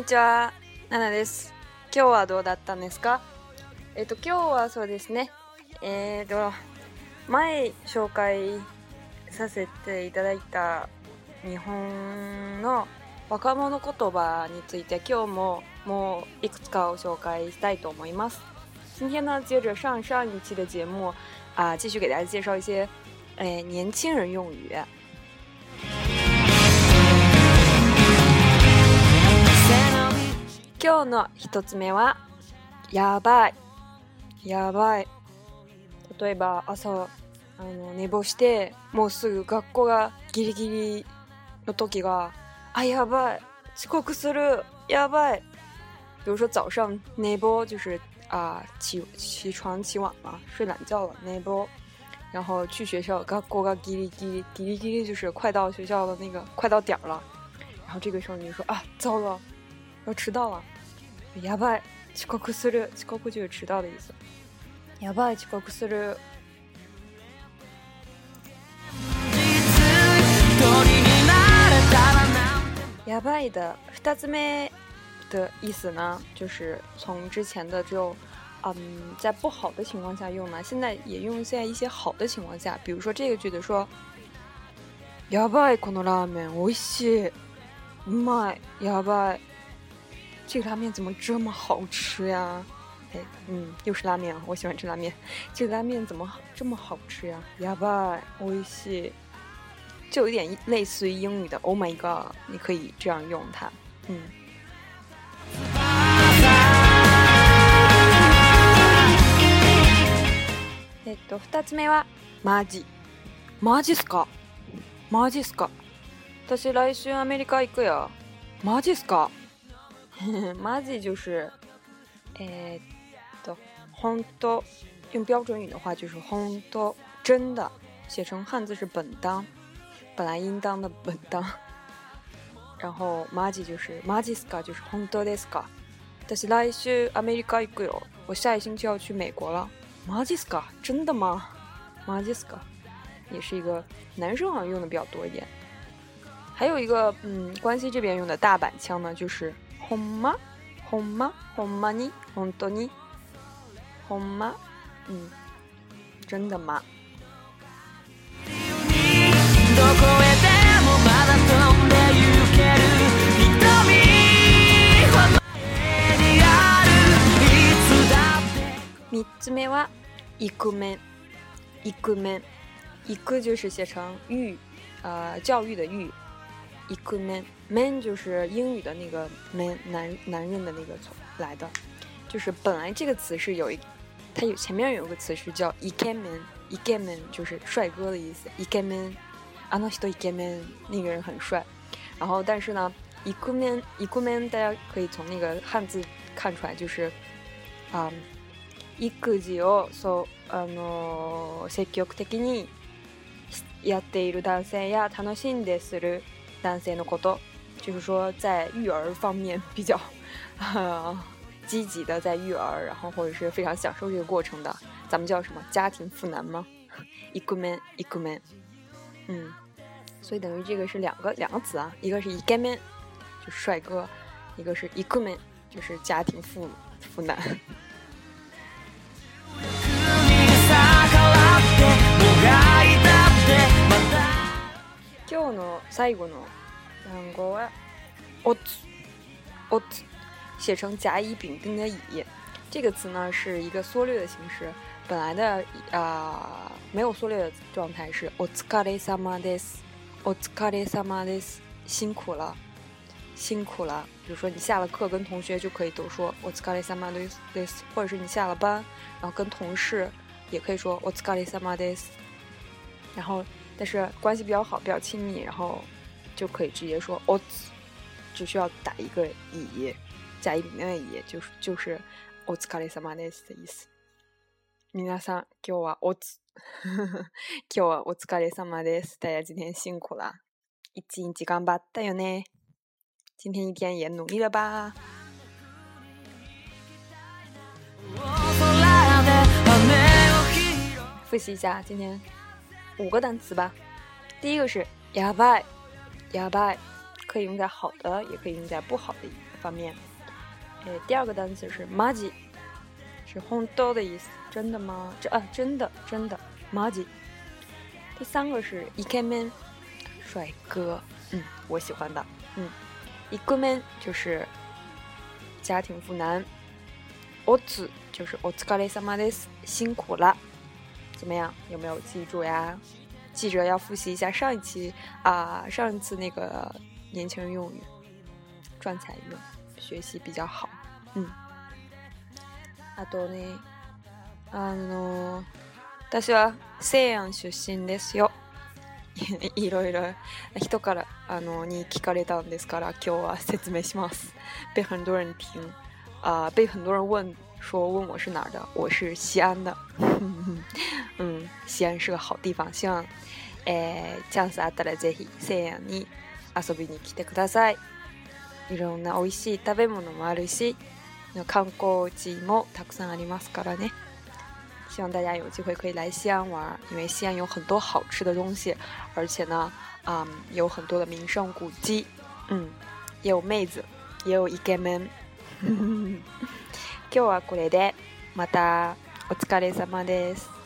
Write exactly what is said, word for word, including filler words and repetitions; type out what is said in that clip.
ちは、ナナです。今日はどうだったんですか？えっと今日はそうですね。えっと前紹介させていただいた日本の若者言葉について今日ももういくつかを紹介したいと思います。今天呢，接着上上一期的节目啊、呃，继续给大家介绍一些诶年轻人用语。今日の一つ目はやばいやばい。例えば朝あの寝坊してもうすぐ学校がギリギリの時が啊やばい遅刻するやばい。比如说早上寝坊就是啊起起床起晚了睡懒觉了寝坊，然后去学校学校がギリギリギリギリ就是快到学校的那个快到点了，然后这个时候你就说啊糟了要迟到了，やばい遅刻する，遅刻就是迟到的意思。やばい遅刻する。やばい的二つ目的意思呢，就是从之前的只有嗯在不好的情况下用呢，现在也用在一些好的情况下。比如说这个句子说やばいこのラーメン美味しい、うまい、やばい。这个拉面怎么这么好吃呀？哎，嗯，又是拉面，我喜欢吃拉面。这个拉面怎么这么好吃呀？やばい、美味しい。就有点类似于英语的 Oh my god， 你可以这样用它。嗯。えっと二つ目はマジ。マジっすか？マジっすか？私来週アメリカ行くよ。マジっすか？マジ就是えー、っと本当，用标准语的话就是本当，真的，写成汉字是本当，本来应当的本当。然后マジ就是マジっすか，就是本当ですか？私来週アメリカ行くよ。我下一星期要去美国了。マジっすか？真的吗？マジっすか？也是一个男生好像用的比较多一点。还有一个嗯，关西这边用的大阪腔呢，就是ほんま、ほんま、ほんまに、本当に、ほんま、嗯，真的吗？三つ目はイクメン。イクメン。イク就是写成育，呃，教育的育。イクメン。men 就是英语的那个 man， 男男人的那个来的。就是本来这个词是有一，它有前面有个词是叫イケメン。イケメン就是帅哥的意思。イケメン。あの人イケメン，那个人很帅。然后但是呢イクメン、イクメン大家可以从那个汉字看出来，就是啊、嗯。育児をそうあの積極的にやっている男性や楽しんでする男性のこと，就是说在育儿方面比较呃积极的在育儿，然后或者是非常享受这个过程的，咱们叫什么家庭妇男吗？イクメン、イクメン。嗯，所以等于这个是两个两个词啊，一个是イケメン就是帅哥，一个是イクメン就是家庭妇妇男。今日の最後の単語はおつ。おつ写成甲乙丙丁的乙，这个词呢是一个缩略的形式，本来的啊、呃、没有缩略的状态是お疲れ様です。お疲れ様です，辛苦了，辛苦了。比如说你下了课跟同学就可以都说お疲れ様です，或者是你下了班然后跟同事也可以说お疲れ様です。然后但是关系比较好比较亲密，然后就可以直接说おつ，只需要打一个乙，甲乙丙丁的乙，就是就是お疲れ様です的意思。皆さん今日はおつ今日はお疲れ様です。大家今天辛苦了，一日頑張ったよね。今天一天也努力了吧。复习一下今天五个单词吧。第一个是やばい。やばい可以用在好的也可以用在不好的方面。诶，第二个单词是マジ，是本当的意思，真的吗？这啊，真的真的マジ。第三个是イケメン，帅哥，嗯，我喜欢的，嗯。イクメン就是家庭妇男，おつ就是お疲れ様です，辛苦了。怎么样？有没有记住呀？记着要复习一下上一期啊、呃，上一次那个年轻人用语，赚财用，学习比较好。嗯。あとね、あの私は西安出身ですよ。いろいろ人からあのに聞かれたんですから今日は説明します。被很多人听啊、呃，被很多人问说问我是哪儿的，我是西安的。嗯，西安是个好地方，希望えー、チャンスあったらぜひ西安に遊びに来てください。いろんな美味しい食べ物もあるし、観光地もたくさんありますからね。希望大家有机会可以来西安玩，因为西安有很多好吃的东西，而且呢，嗯，有很多的名胜古迹，嗯，也有妹子，也有イケメン。今日はこれで、またお疲れ様です。